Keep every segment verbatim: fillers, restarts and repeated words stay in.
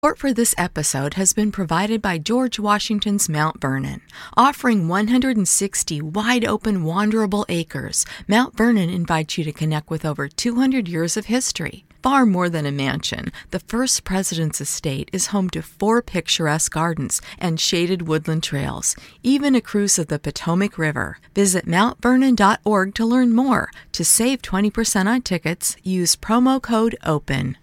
Support for this episode has been provided by George Washington's Mount Vernon. Offering one hundred sixty wide-open, wanderable acres, Mount Vernon invites you to connect with over two hundred years of history. Far more than a mansion, the first president's estate is home to four picturesque gardens and shaded woodland trails, even a cruise of the Potomac River. Visit mount vernon dot org to learn more. To save twenty percent on tickets, use promo code OPEN.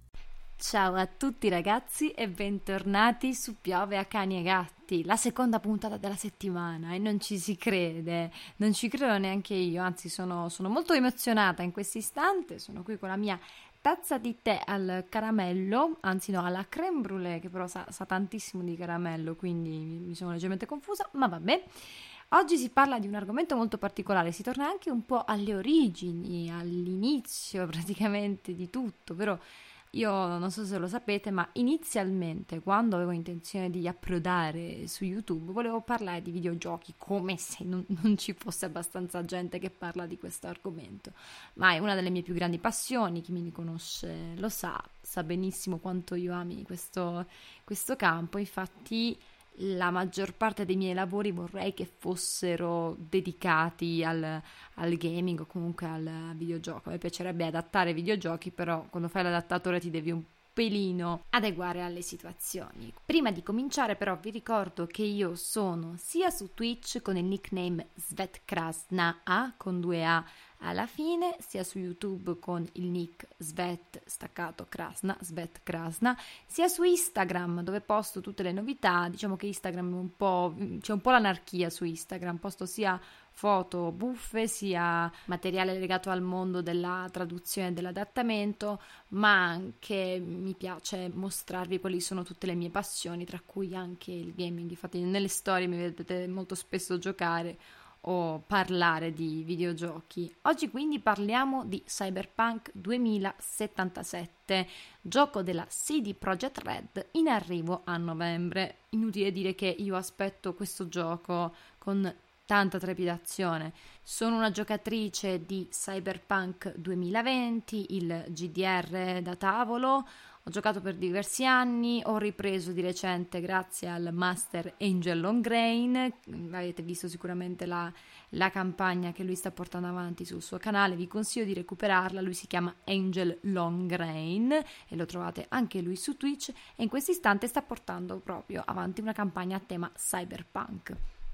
Ciao a tutti ragazzi e bentornati su Piove a Cani e Gatti, la seconda puntata della settimana, e non ci si crede, non ci credo neanche io, anzi sono, sono molto emozionata in questo istante. Sono qui con la mia tazza di tè al caramello, anzi no, alla crème brûlée, che però sa, sa tantissimo di caramello, quindi mi, mi sono leggermente confusa, ma vabbè. Oggi si parla di un argomento molto particolare, si torna anche un po' alle origini, all'inizio praticamente di tutto, però io non so se lo sapete, ma inizialmente, quando avevo intenzione di approdare su YouTube, volevo parlare di videogiochi, come se non, non ci fosse abbastanza gente che parla di questo argomento. Ma è una delle mie più grandi passioni, chi mi conosce lo sa, sa benissimo quanto io ami questo, questo campo. Infatti la maggior parte dei miei lavori vorrei che fossero dedicati al, al gaming o comunque al videogioco. A me piacerebbe adattare videogiochi, però quando fai l'adattatore ti devi un pelino adeguare alle situazioni. Prima di cominciare però vi ricordo che io sono sia su Twitch con il nickname Svetkrasna A con due A alla fine, sia su YouTube con il nick Svet staccato Krasna, Svet Krasna, sia su Instagram dove posto tutte le novità. Diciamo che Instagram è un po', c'è un po' l'anarchia su Instagram, posto sia foto buffe, sia materiale legato al mondo della traduzione e dell'adattamento, ma anche mi piace mostrarvi quali sono tutte le mie passioni, tra cui anche il gaming. Infatti nelle storie mi vedete molto spesso giocare o parlare di videogiochi. Oggi quindi parliamo di Cyberpunk duemilasettantasette, gioco della C D Projekt Red in arrivo a novembre. Inutile dire che io aspetto questo gioco con tanta trepidazione. Sono una giocatrice di Cyberpunk duemilaventi, il G D R da tavolo. Ho giocato per diversi anni, ho ripreso di recente grazie al Master Angel Longrain. Avete visto sicuramente la, la campagna che lui sta portando avanti sul suo canale, vi consiglio di recuperarla. Lui si chiama Angel Longrain e lo trovate anche lui su Twitch, e in questo istante sta portando proprio avanti una campagna a tema cyberpunk.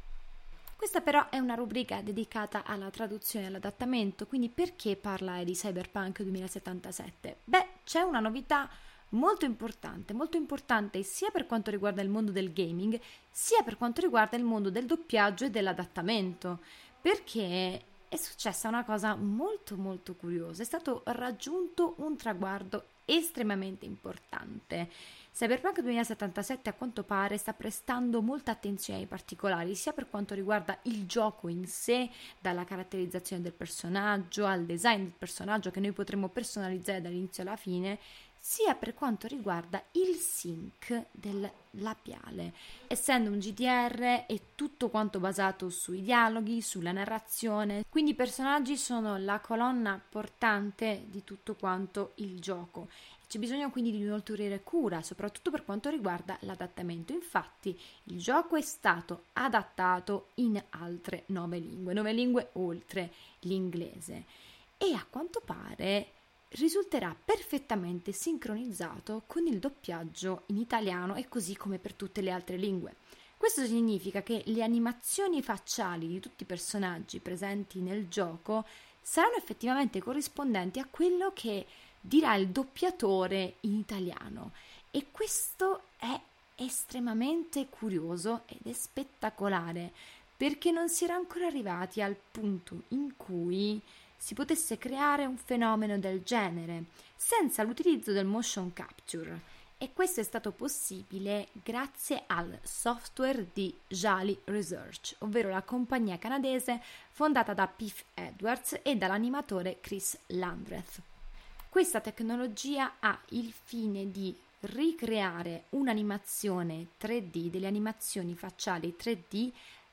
Questa però è una rubrica dedicata alla traduzione e all'adattamento, quindi perché parlare di Cyberpunk duemilasettantasette? Beh, c'è una novità molto importante, molto importante sia per quanto riguarda il mondo del gaming, sia per quanto riguarda il mondo del doppiaggio e dell'adattamento, perché è successa una cosa molto molto curiosa, è stato raggiunto un traguardo estremamente importante. Cyberpunk duemilasettantasette a quanto pare sta prestando molta attenzione ai particolari, sia per quanto riguarda il gioco in sé, dalla caratterizzazione del personaggio al design del personaggio che noi potremo personalizzare dall'inizio alla fine, sia per quanto riguarda il sync del labiale. Essendo un G D R è tutto quanto basato sui dialoghi, sulla narrazione, quindi i personaggi sono la colonna portante di tutto quanto il gioco. C'è bisogno quindi di un'ulteriore cura, soprattutto per quanto riguarda l'adattamento. Infatti il gioco è stato adattato in altre nove lingue, nove lingue oltre l'inglese, e a quanto pare risulterà perfettamente sincronizzato con il doppiaggio in italiano, e così come per tutte le altre lingue. Questo significa che le animazioni facciali di tutti i personaggi presenti nel gioco saranno effettivamente corrispondenti a quello che dirà il doppiatore in italiano, e questo è estremamente curioso ed è spettacolare, perché non si era ancora arrivati al punto in cui si potesse creare un fenomeno del genere senza l'utilizzo del motion capture, e questo è stato possibile grazie al software di Jali Research, ovvero la compagnia canadese fondata da Piff Edwards e dall'animatore Chris Landreth. Questa tecnologia ha il fine di ricreare un'animazione tre D, delle animazioni facciali tre D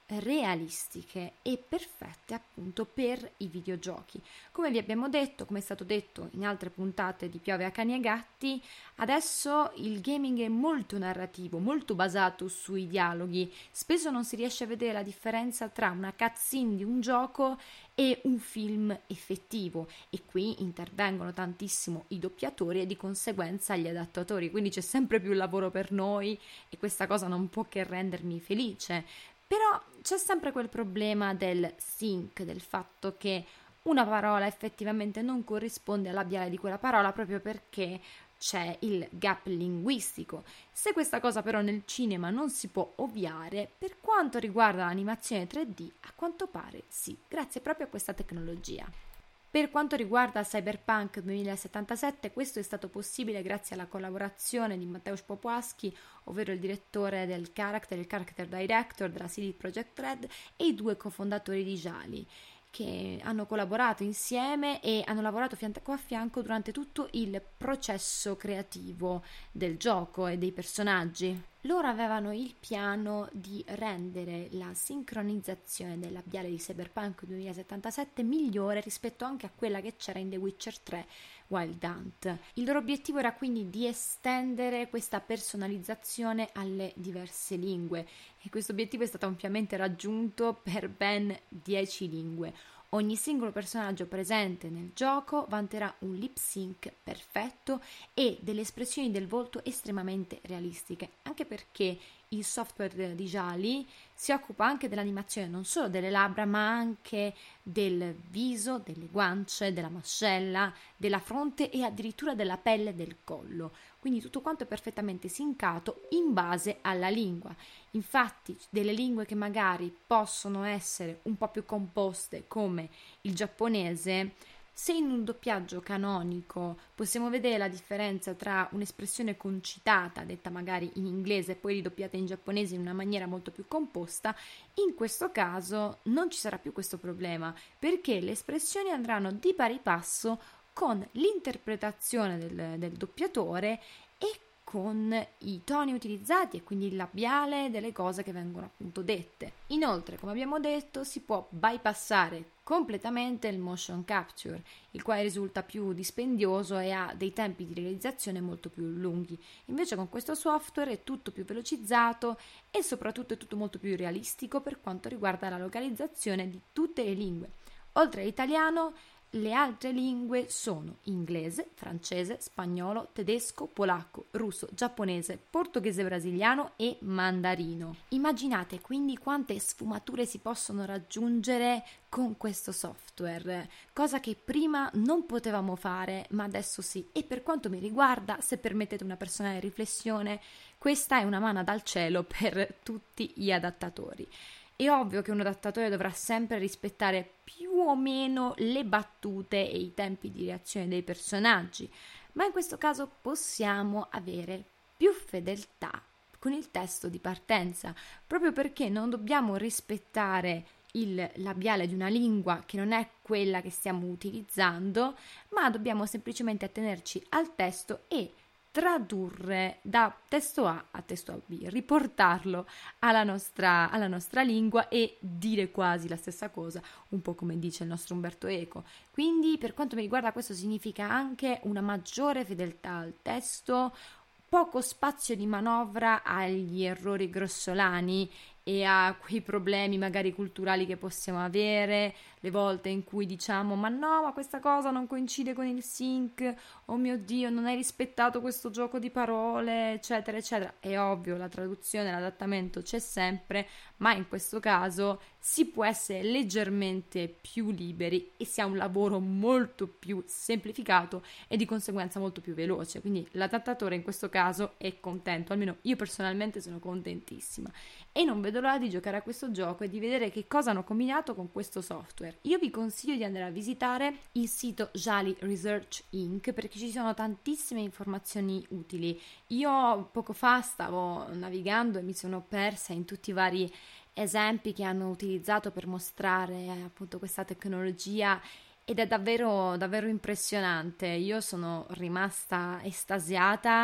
realistiche e perfette appunto per i videogiochi. Come vi abbiamo detto, come è stato detto in altre puntate di Piove a cani e gatti, adesso il gaming è molto narrativo, molto basato sui dialoghi. Spesso non si riesce a vedere la differenza tra una cutscene di un gioco e un film effettivo, e qui intervengono tantissimo i doppiatori e di conseguenza gli adattatori, quindi c'è sempre più lavoro per noi e questa cosa non può che rendermi felice. Però c'è sempre quel problema del sync, del fatto che una parola effettivamente non corrisponde al labiale di quella parola proprio perché c'è il gap linguistico. Se questa cosa però nel cinema non si può ovviare, per quanto riguarda l'animazione tre D, a quanto pare sì, grazie proprio a questa tecnologia. Per quanto riguarda Cyberpunk duemilasettantasette, questo è stato possibile grazie alla collaborazione di Mateusz Popławski, ovvero il direttore del character, il character director della C D Projekt Red, e i due cofondatori di Jali, che hanno collaborato insieme e hanno lavorato fianco a fianco durante tutto il processo creativo del gioco e dei personaggi. Loro avevano il piano di rendere la sincronizzazione del labiale di Cyberpunk duemilasettantasette migliore rispetto anche a quella che c'era in The Witcher tre Wild Hunt. Il loro obiettivo era quindi di estendere questa personalizzazione alle diverse lingue e questo obiettivo è stato ampiamente raggiunto per ben dieci lingue. Ogni singolo personaggio presente nel gioco vanterà un lip sync perfetto e delle espressioni del volto estremamente realistiche, anche perché il software di Jali si occupa anche dell'animazione non solo delle labbra ma anche del viso, delle guance, della mascella, della fronte e addirittura della pelle del collo. Quindi tutto quanto è perfettamente sincato in base alla lingua. Infatti delle lingue che magari possono essere un po' più composte come il giapponese, se in un doppiaggio canonico possiamo vedere la differenza tra un'espressione concitata, detta magari in inglese e poi ridoppiata in giapponese in una maniera molto più composta, in questo caso non ci sarà più questo problema, perché le espressioni andranno di pari passo con l'interpretazione del, del doppiatore e con i toni utilizzati e quindi il labiale delle cose che vengono appunto dette. Inoltre, come abbiamo detto, si può bypassare completamente il motion capture, il quale risulta più dispendioso e ha dei tempi di realizzazione molto più lunghi. Invece con questo software è tutto più velocizzato e soprattutto è tutto molto più realistico per quanto riguarda la localizzazione di tutte le lingue. Oltre all'italiano, le altre lingue sono inglese, francese, spagnolo, tedesco, polacco, russo, giapponese, portoghese brasiliano e mandarino. Immaginate quindi quante sfumature si possono raggiungere con questo software, cosa che prima non potevamo fare, ma adesso sì. E per quanto mi riguarda, se permettete una personale riflessione, questa è una manna dal cielo per tutti gli adattatori. È ovvio che un adattatore dovrà sempre rispettare più o meno le battute e i tempi di reazione dei personaggi, ma in questo caso possiamo avere più fedeltà con il testo di partenza, proprio perché non dobbiamo rispettare il labiale di una lingua che non è quella che stiamo utilizzando, ma dobbiamo semplicemente attenerci al testo e tradurre da testo A a testo B, riportarlo alla nostra, alla nostra lingua e dire quasi la stessa cosa, un po' come dice il nostro Umberto Eco. Quindi per quanto mi riguarda questo significa anche una maggiore fedeltà al testo, poco spazio di manovra agli errori grossolani e a quei problemi magari culturali che possiamo avere, le volte in cui diciamo ma no, ma questa cosa non coincide con il sync, oh mio Dio, non hai rispettato questo gioco di parole, eccetera, eccetera. È ovvio, la traduzione, l'adattamento c'è sempre, ma in questo caso si può essere leggermente più liberi e si ha un lavoro molto più semplificato e di conseguenza molto più veloce, quindi l'adattatore in questo caso è contento, almeno io personalmente sono contentissima e non vedo l'ora di giocare a questo gioco e di vedere che cosa hanno combinato con questo software. Io vi consiglio di andare a visitare il sito Jali Research Incorporated perché ci sono tantissime informazioni utili. Io poco fa stavo navigando e mi sono persa in tutti i vari esempi che hanno utilizzato per mostrare appunto questa tecnologia ed è davvero davvero impressionante. Io sono rimasta estasiata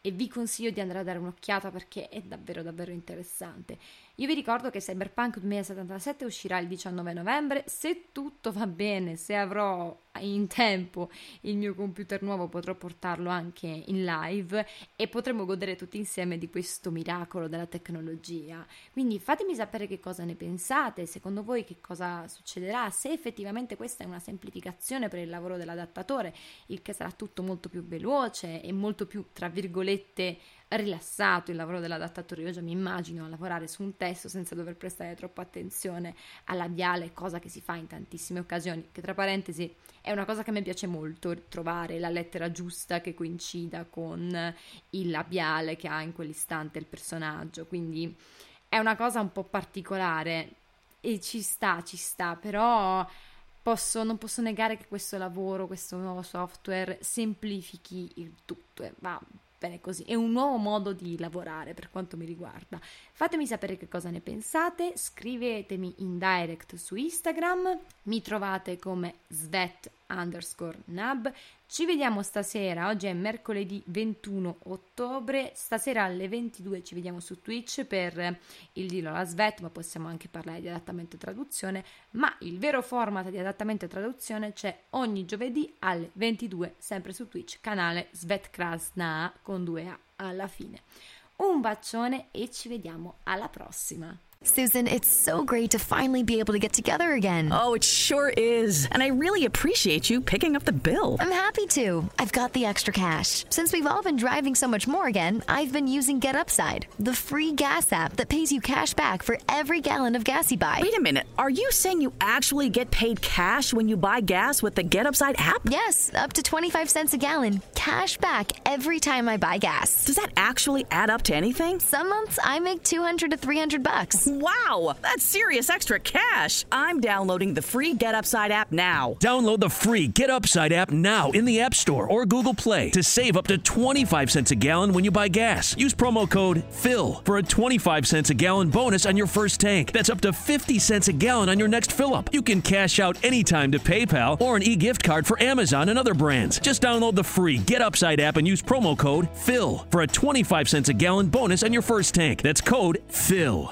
e vi consiglio di andare a dare un'occhiata perché è davvero davvero interessante. Io vi ricordo che Cyberpunk duemilasettantasette uscirà il diciannove novembre, se tutto va bene, se avrò in tempo il mio computer nuovo potrò portarlo anche in live e potremo godere tutti insieme di questo miracolo della tecnologia. Quindi fatemi sapere che cosa ne pensate, secondo voi che cosa succederà, se effettivamente questa è una semplificazione per il lavoro dell'adattatore, il che sarà tutto molto più veloce e molto più, tra virgolette, rilassato il lavoro dell'adattatore. Io già mi immagino a lavorare su un testo senza dover prestare troppa attenzione al labiale, cosa che si fa in tantissime occasioni, che tra parentesi è una cosa che mi piace molto, trovare la lettera giusta che coincida con il labiale che ha in quell'istante il personaggio, quindi è una cosa un po' particolare e ci sta, ci sta, però posso, non posso negare che questo lavoro, questo nuovo software semplifichi il tutto e va bene così, è un nuovo modo di lavorare per quanto mi riguarda. Fatemi sapere che cosa ne pensate, scrivetemi in direct su Instagram, mi trovate come svet underscore nab. Ci vediamo stasera, oggi è mercoledì ventuno ottobre, stasera alle ventidue ci vediamo su Twitch per il Dillo alla Svet, ma possiamo anche parlare di adattamento e traduzione, ma il vero format di adattamento e traduzione c'è ogni giovedì alle ventidue, sempre su Twitch, canale Svet Krasna con due A alla fine. Un bacione e ci vediamo alla prossima! Susan, it's so great to finally be able to get together again. Oh, it sure is. And I really appreciate you picking up the bill. I'm happy to. I've got the extra cash. Since we've all been driving so much more again, I've been using GetUpside, the free gas app that pays you cash back for every gallon of gas you buy. Wait a minute. Are you saying you actually get paid cash when you buy gas with the GetUpside app? Yes, up to twenty-five cents a gallon. Cash back every time I buy gas. Does that actually add up to anything? Some months I make two hundred to three hundred bucks. Wow, that's serious extra cash. I'm downloading the free GetUpside app now. Download the free GetUpside app now in the App Store or Google Play to save up to twenty-five cents a gallon when you buy gas. Use promo code PHIL for a twenty-five cents a gallon bonus on your first tank. That's up to fifty cents a gallon on your next fill-up. You can cash out anytime to PayPal or an e-gift card for Amazon and other brands. Just download the free GetUpside app and use promo code PHIL for a twenty-five cents a gallon bonus on your first tank. That's code PHIL.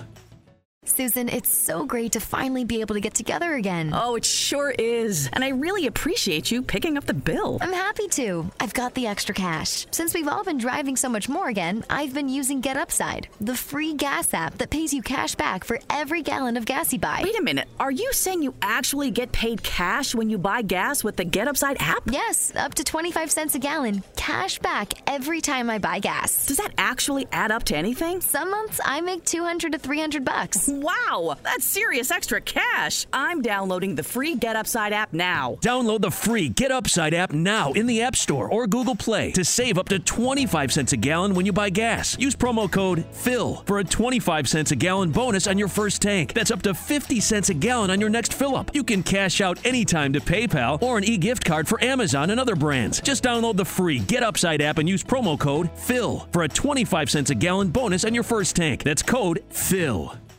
Susan, it's so great to finally be able to get together again. Oh, it sure is. And I really appreciate you picking up the bill. I'm happy to. I've got the extra cash. Since we've all been driving so much more again, I've been using GetUpside, the free gas app that pays you cash back for every gallon of gas you buy. Wait a minute. Are you saying you actually get paid cash when you buy gas with the GetUpside app? Yes, up to twenty-five cents a gallon. Cash back every time I buy gas. Does that actually add up to anything? Some months I make two hundred to three hundred bucks. Wow, that's serious extra cash. I'm downloading the free GetUpside app now. Download the free GetUpside app now in the App Store or Google Play to save up to twenty-five cents a gallon when you buy gas. Use promo code PHIL for a twenty-five cents a gallon bonus on your first tank. That's up to fifty cents a gallon on your next fill-up. You can cash out anytime to PayPal or an e-gift card for Amazon and other brands. Just download the free GetUpside app and use promo code PHIL for a twenty-five cents a gallon bonus on your first tank. That's code PHIL.